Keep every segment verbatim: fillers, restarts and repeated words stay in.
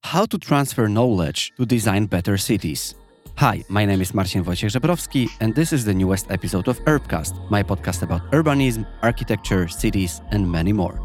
How to transfer knowledge to design better cities. Hi, my name is Marcin Wojciech Żebrowski, and this is the newest episode of Urbcast, my podcast about urbanism, architecture, cities, and many more.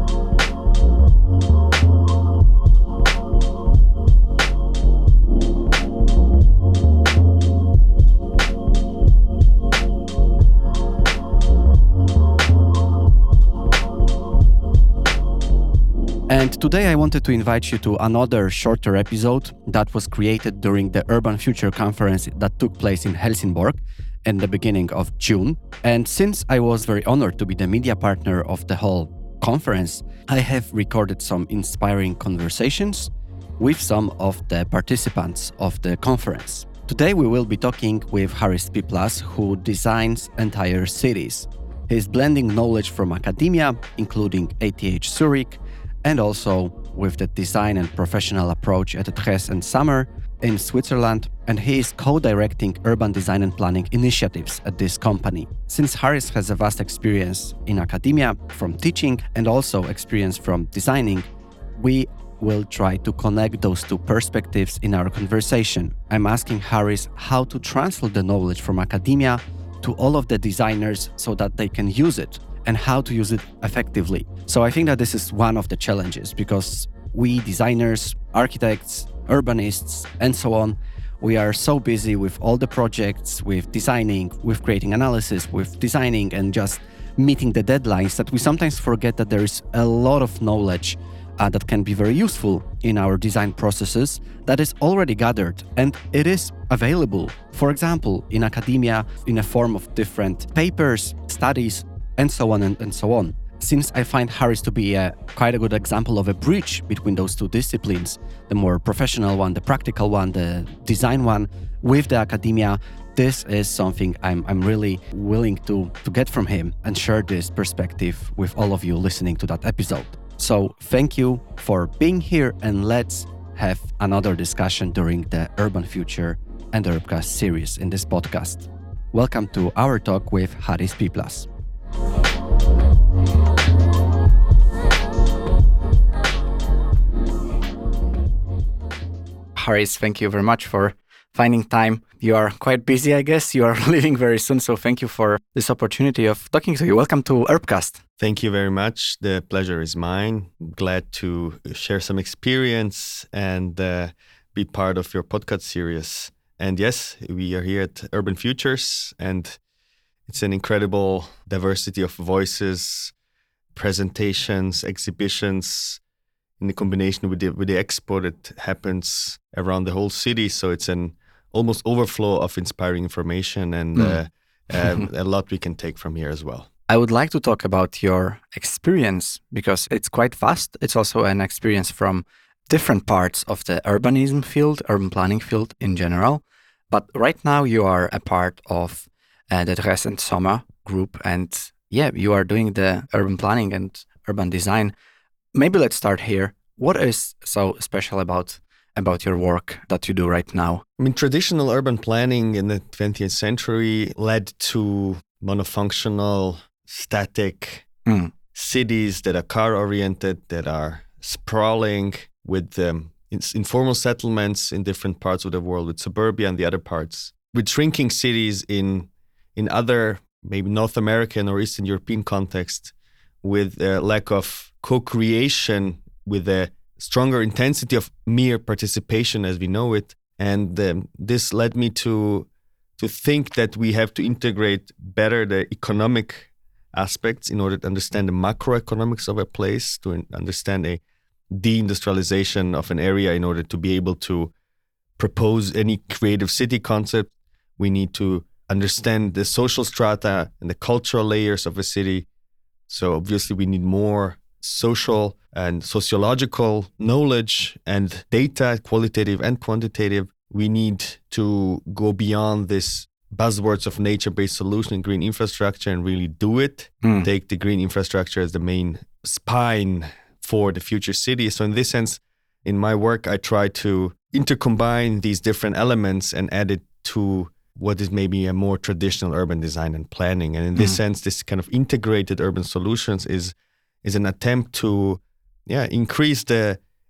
And today I wanted to invite you to another shorter episode that was created during the Urban Future conference that took place in Helsingborg in the beginning of June. And since I was very honored to be the media partner of the whole conference, I have recorded some inspiring conversations with some of the participants of the conference. Today we will be talking with Harris Piplas, who designs entire cities. He's blending knowledge from academia, including A T H Zurich, and also with the design and professional approach at Dres and Sommer in Switzerland, and he is co-directing urban design and planning initiatives at this company. Since Harris has a vast experience in academia from teaching and also experience from designing, we will try to connect those two perspectives in our conversation. I'm asking Harris how to translate the knowledge from academia to all of the designers so that they can use it, and how to use it effectively. So I think that this is one of the challenges, because we designers, architects, urbanists, and so on, we are so busy with all the projects, with designing, with creating analysis, with designing and just meeting the deadlines, that we sometimes forget that there is a lot of knowledge uh, that can be very useful in our design processes that is already gathered, and it is available, for example, in academia in a form of different papers, studies, and so on and, and so on. Since I find Harris to be a, quite a good example of a bridge between those two disciplines, the more professional one, the practical one, the design one, with the academia, this is something I'm, I'm really willing to, to get from him and share this perspective with all of you listening to that episode. So thank you for being here, and let's have another discussion during the Urban Future and Urbcast series in this podcast. Welcome to our talk with Harris Piplas. Harris, thank you very much for finding time. You are quite busy, I guess. You are leaving very soon, so thank you for this opportunity of talking to you. Welcome to Urbcast. Thank you very much. The pleasure is mine. Glad to share some experience and uh, be part of your podcast series. And yes, we are here at Urban Futures, and it's an incredible diversity of voices, presentations, exhibitions, in the combination with the, with the expo that happens around the whole city. So it's an almost overflow of inspiring information, and mm. uh, um, a lot we can take from here as well. I would like to talk about your experience, because it's quite vast. It's also an experience from different parts of the urbanism field, urban planning field in general. But right now you are a part of uh, the Dres and Sommer group, and yeah, you are doing the urban planning and urban design. Maybe let's start here. What is so special about about your work that you do right now? I mean, traditional urban planning in the twentieth century led to monofunctional, static mm. cities that are car-oriented, that are sprawling, with um, informal settlements in different parts of the world, with suburbia and the other parts, with shrinking cities in in other, maybe North American or Eastern European context, with a lack of co-creation, with a stronger intensity of mere participation as we know it. And um, this led me to to think that we have to integrate better the economic aspects in order to understand the macroeconomics of a place, to understand a deindustrialization of an area in order to be able to propose any creative city concept. We need to understand the social strata and the cultural layers of a city. So obviously we need more social and sociological knowledge and data, qualitative and quantitative. We need to go beyond this buzzwords of nature-based solution and green infrastructure and really do it. Mm. Take the green infrastructure as the main spine for the future city. So in this sense, in my work, I try to intercombine these different elements and add it to what is maybe a more traditional urban design and planning. And in this mm. sense, this kind of integrated urban solutions is is an attempt to yeah increase the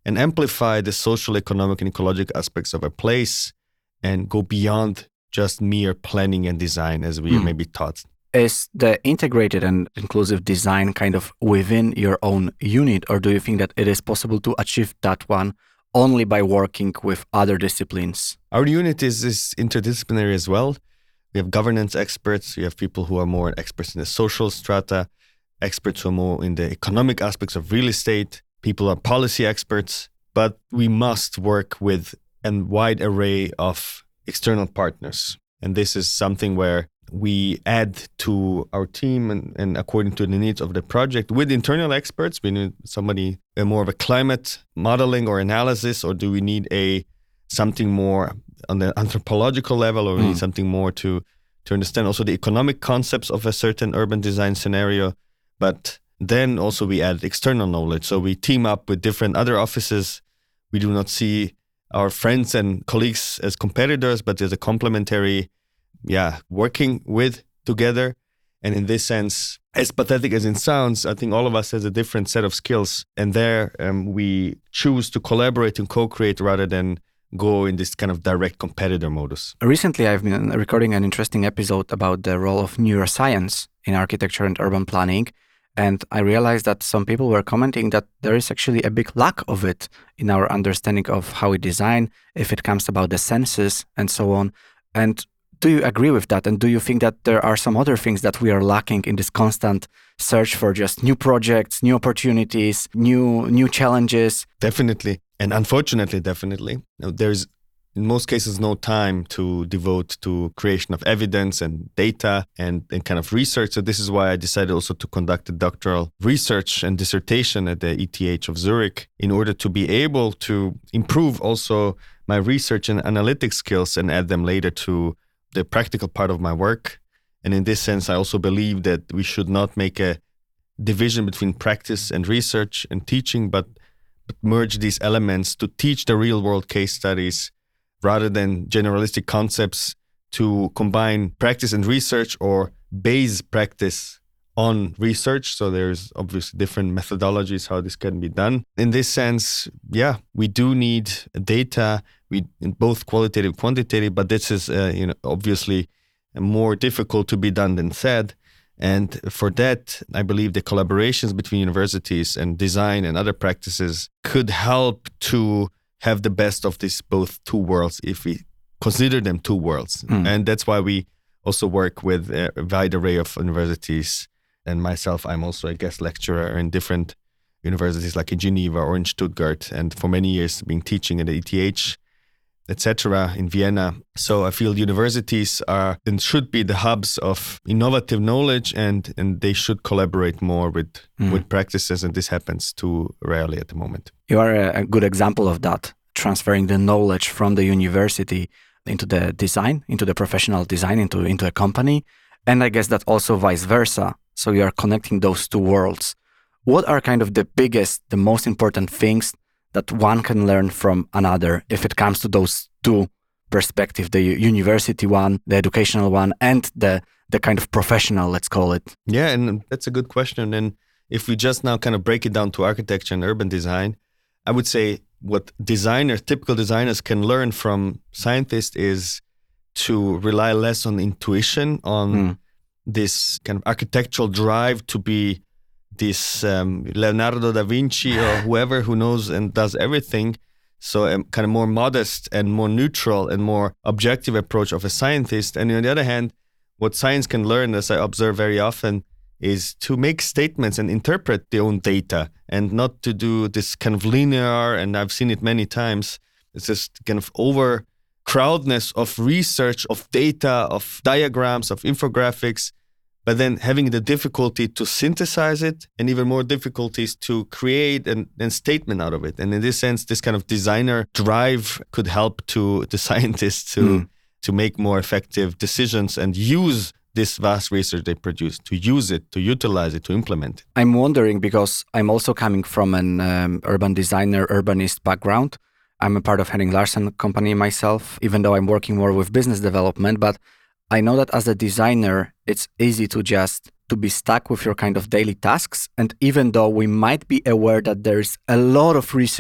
and amplify the social, economic, and ecological aspects of a place and go beyond just mere planning and design as we mm. may be taught. Is the integrated and inclusive design kind of within your own unit, or do you think that it is possible to achieve that one only by working with other disciplines? Our unit is, is interdisciplinary as well. We have governance experts, we have people who are more experts in the social strata, experts who are more in the economic aspects of real estate, people are policy experts, but we must work with a wide array of external partners. And this is something where we add to our team and, and according to the needs of the project with internal experts. We need somebody uh, more of a climate modeling or analysis, or do we need a something more on the anthropological level, or we mm. need something more to, to understand also the economic concepts of a certain urban design scenario. But then also we add external knowledge. So we team up with different other offices. We do not see our friends and colleagues as competitors, but there's a complementary yeah, working with together. And in this sense, as pathetic as it sounds, I think all of us has a different set of skills. And there um, we choose to collaborate and co-create rather than go in this kind of direct competitor modus. Recently, I've been recording an interesting episode about the role of neuroscience in architecture and urban planning. And I realized that some people were commenting that there is actually a big lack of it in our understanding of how we design, if it comes about the senses and so on. And do you agree with that? And do you think that there are some other things that we are lacking in this constant search for just new projects, new opportunities, new new challenges? Definitely. And unfortunately, definitely. There's in most cases no time to devote to creation of evidence and data and, and kind of research. So this is why I decided also to conduct a doctoral research and dissertation at the E T H of Zurich in order to be able to improve also my research and analytic skills and add them later to the practical part of my work. And in this sense, I also believe that we should not make a division between practice and research and teaching, but, but merge these elements to teach the real world case studies rather than generalistic concepts, to combine practice and research or base practice on research. So there's obviously different methodologies how this can be done. In this sense, yeah, we do need data, we in both qualitative and quantitative, but this is uh, you know obviously more difficult to be done than said. And for that, I believe the collaborations between universities and design and other practices could help to have the best of these both two worlds, if we consider them two worlds. Mm. And that's why we also work with a wide array of universities. And myself, I'm also a guest lecturer in different universities like in Geneva or in Stuttgart, and for many years been teaching at the E T H, et cetera, in Vienna. So I feel universities are and should be the hubs of innovative knowledge, and, and they should collaborate more with, mm. with practices, and this happens too rarely at the moment. You are a good example of that, transferring the knowledge from the university into the design, into the professional design, into, into a company. And I guess that also vice versa. So you are connecting those two worlds. What are kind of the biggest, the most important things that one can learn from another if it comes to those two perspectives, the university one, the educational one, and the the kind of professional, let's call it? Yeah, and that's a good question. And if we just now kind of break it down to architecture and urban design, I would say what designers, typical designers can learn from scientists is to rely less on intuition, on mm. this kind of architectural drive to be this um, Leonardo da Vinci or whoever who knows and does everything. So a kind of more modest and more neutral and more objective approach of a scientist. And on the other hand, what science can learn, as I observe very often, is to make statements and interpret their own data and not to do this kind of linear, and I've seen it many times, it's just kind of overcrowdedness of research, of data, of diagrams, of infographics, but then having the difficulty to synthesize it and even more difficulties to create an, an statement out of it. And in this sense, this kind of designer drive could help to the scientists to, mm. to make more effective decisions and use this vast research they produce, to use it, to utilize it, to implement it. I'm wondering, because I'm also coming from an um, urban designer, urbanist background. I'm a part of Henning Larsen company myself, even though I'm working more with business development. But I know that as a designer, it's easy to just to be stuck with your kind of daily tasks. And even though we might be aware that there's a lot of research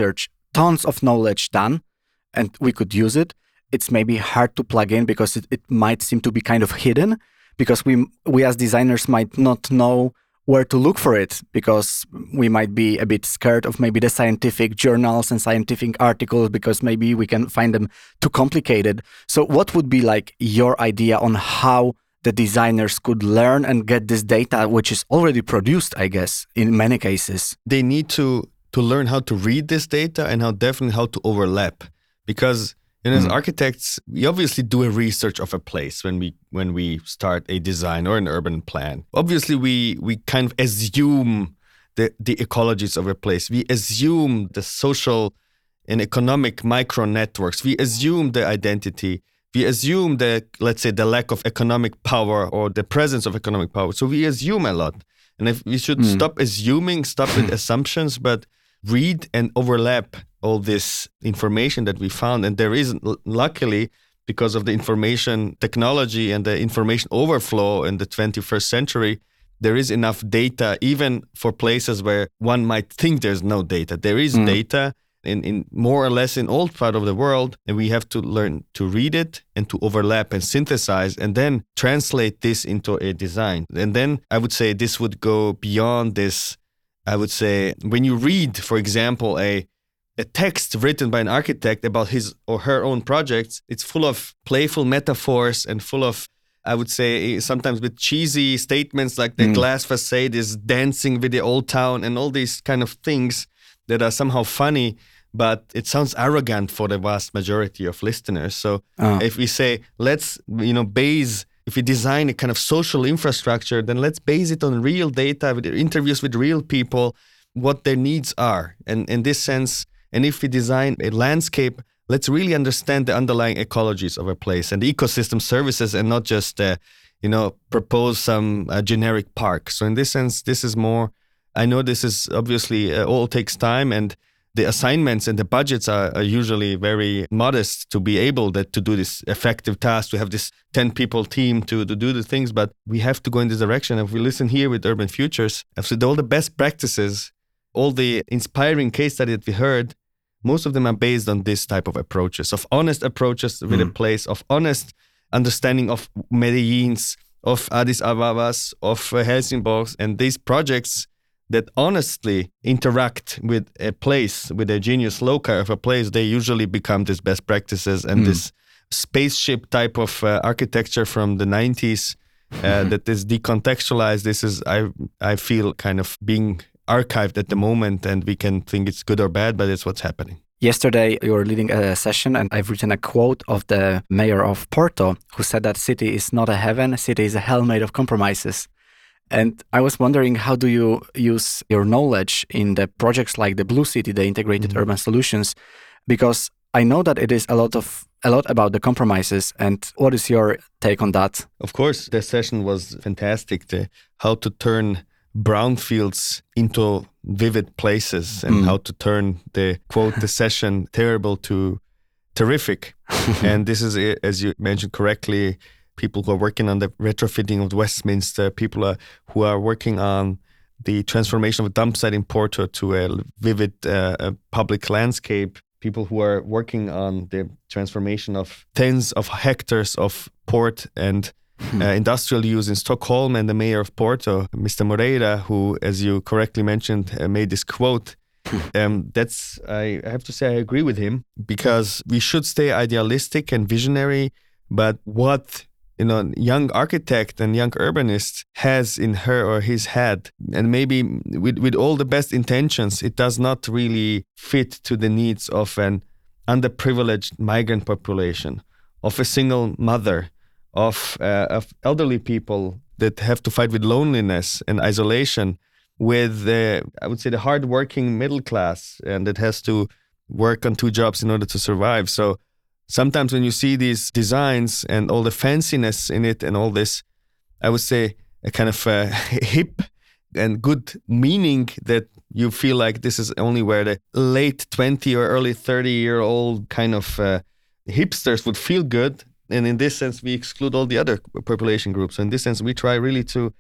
tons of knowledge done and we could use it. It's maybe hard to plug in because it, it might seem to be kind of hidden, because we we as designers might not know where to look for it, because we might be a bit scared of maybe the scientific journals and scientific articles because maybe we can find them too complicated. So what would be like your idea on how the designers could learn and get this data, which is already produced, I guess, in many cases? They need to to learn how to read this data and how definitely how to overlap. Because you know, as mm. architects, we obviously do a research of a place when we when we start a design or an urban plan. Obviously, we we kind of assume the, the ecologies of a place. We assume the social and economic micro networks. We assume the identity. We assume the, let's say, the lack of economic power or the presence of economic power. So we assume a lot. And if we should mm. stop assuming, stop with assumptions, but read and overlap all this information that we found. And there is, luckily, because of the information technology and the information overflow in the twenty-first century, there is enough data, even for places where one might think there's no data. There is mm. data in, in more or less in all part of the world, and we have to learn to read it and to overlap and synthesize and then translate this into a design. And then I would say this would go beyond this. I would say when you read, for example, a a text written by an architect about his or her own projects, it's full of playful metaphors and full of, I would say, sometimes with cheesy statements like the mm. glass facade is dancing with the old town and all these kind of things that are somehow funny, but it sounds arrogant for the vast majority of listeners. So oh. if we say, let's, you know, base, if we design a kind of social infrastructure, then let's base it on real data, with interviews with real people, what their needs are. And in this sense, and if we design a landscape, let's really understand the underlying ecologies of a place and the ecosystem services, and not just, uh, you know, propose some uh, generic park. So in this sense, this is more, I know this is obviously uh, all takes time, and the assignments and the budgets are, are usually very modest to be able that, to do this effective task, to have this ten people team to, to do the things. But we have to go in this direction. If we listen here with Urban Futures, I've said all the best practices, all the inspiring case study that we heard, most of them are based on this type of approaches, of honest approaches with mm. a place, of honest understanding of Medellins, of Addis Ababas, of uh, Helsingborg, and these projects that honestly interact with a place, with a genius loci of a place, they usually become these best practices and mm. this spaceship type of uh, architecture from the nineties uh, that is decontextualized. This is, I I feel, kind of being archived at the moment, and we can think it's good or bad, but it's what's happening. Yesterday, you were leading a session, and I've written a quote of the mayor of Porto, who said that city is not a heaven, city is a hell made of compromises. And I was wondering, how do you use your knowledge in the projects like the Blue City, the Integrated mm-hmm. Urban Solutions? Because I know that it is a lot of a lot about the compromises. And what is your take on that? Of course, the session was fantastic. The, how to turn brownfields into vivid places, and mm. how to turn the, quote, the session terrible to terrific. And this is, as you mentioned correctly, people who are working on the retrofitting of Westminster, people are, who are working on the transformation of a dump site in Porto to a vivid uh, a public landscape, people who are working on the transformation of tens of hectares of port and Hmm. Uh, industrial use in Stockholm, and the mayor of Porto, Mister Moreira, who, as you correctly mentioned, uh, made this quote. um, that's, I have to say, I agree with him, because we should stay idealistic and visionary. But what, you know, young architect and young urbanist has in her or his head, and maybe with, with all the best intentions, it does not really fit to the needs of an underprivileged migrant population, of a single mother, Of, uh, of elderly people that have to fight with loneliness and isolation, with, uh, I would say, the hardworking middle class, and that has to work on two jobs in order to survive. So sometimes when you see these designs and all the fanciness in it and all this, I would say a kind of uh, hip and good meaning, that you feel like this is only where the late twenty or early thirty year old kind of uh, hipsters would feel good. And in this sense, we exclude all the other population groups. So in this sense, we try really to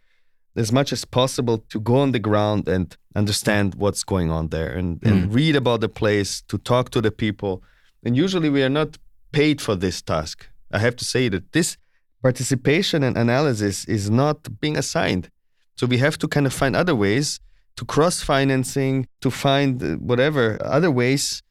as much as possible to go on the ground and understand what's going on there and, mm. and read about the place, to talk to the people. And usually we are not paid for this task. I have to say that this participation and analysis is not being assigned. So we have to kind of find other ways to cross-financing, to find whatever other ways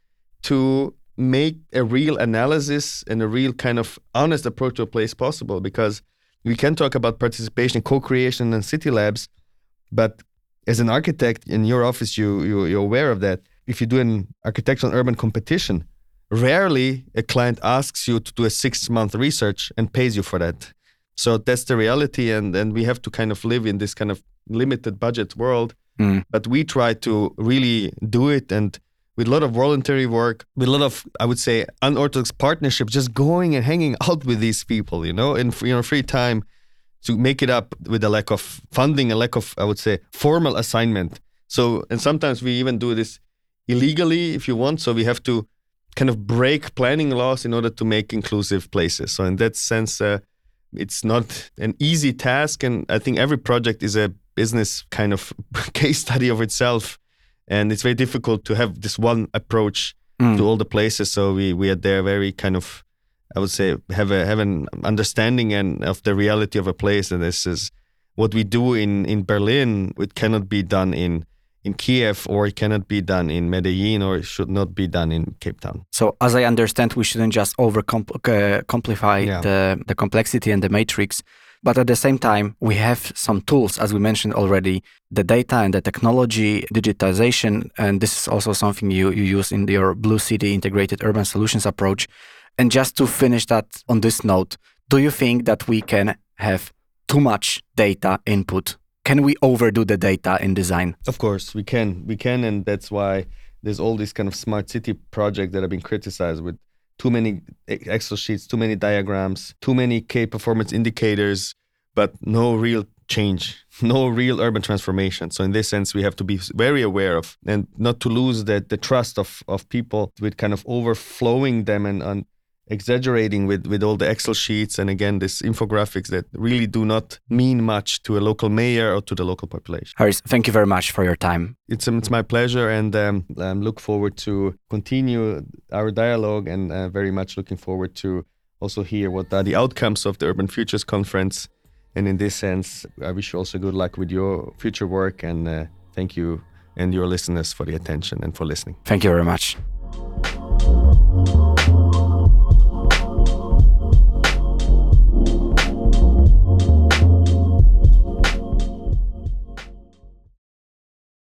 to make a real analysis and a real kind of honest approach to a place possible. Because we can talk about participation, co-creation and city labs, but as an architect in your office, you, you, you're aware of that. If you do an architectural urban competition, rarely a client asks you to do a six-month research and pays you for that. So that's the reality, and, and we have to kind of live in this kind of limited budget world. Mm. But we try to really do it, and with a lot of voluntary work, with a lot of, I would say, unorthodox partnership, just going and hanging out with these people, you know, in you know, free time, to make it up with a lack of funding, a lack of, I would say, formal assignment. So, and sometimes we even do this illegally, if you want. So we have to kind of break planning laws in order to make inclusive places. So in that sense, uh, it's not an easy task. And I think every project is a business kind of case study of itself. And it's very difficult to have this one approach mm. to all the places. So we, we are there very kind of, I would say, have a have an understanding and of the reality of a place. And this is what we do in, in Berlin. It cannot be done in in Kiev, or it cannot be done in Medellin, or it should not be done in Cape Town. So as I understand, we shouldn't just over-complexify yeah. the, the complexity and the matrix, but at the same time, we have some tools, as we mentioned already, the data and the technology, digitization, and this is also something you, you use in your Blue City Integrated Urban Solutions approach. And just to finish that on this note, do you think that we can have too much data input? Can we overdo the data in design? Of course, we can. We can, and that's why there's all these kind of smart city projects that have been criticized with too many Excel sheets, too many diagrams, too many key performance indicators, but no real change, no real urban transformation. So in this sense, we have to be very aware of, and not to lose the, the trust of, of people with kind of overflowing them and, and exaggerating with, with all the Excel sheets and again, this infographics that really do not mean much to a local mayor or to the local population. Haris, thank you very much for your time. It's um, it's my pleasure, and um, I look forward to continue our dialogue, and uh, very much looking forward to also hear what are the outcomes of the Urban Futures Conference. And in this sense, I wish you also good luck with your future work, and uh, thank you and your listeners for the attention and for listening. Thank you very much.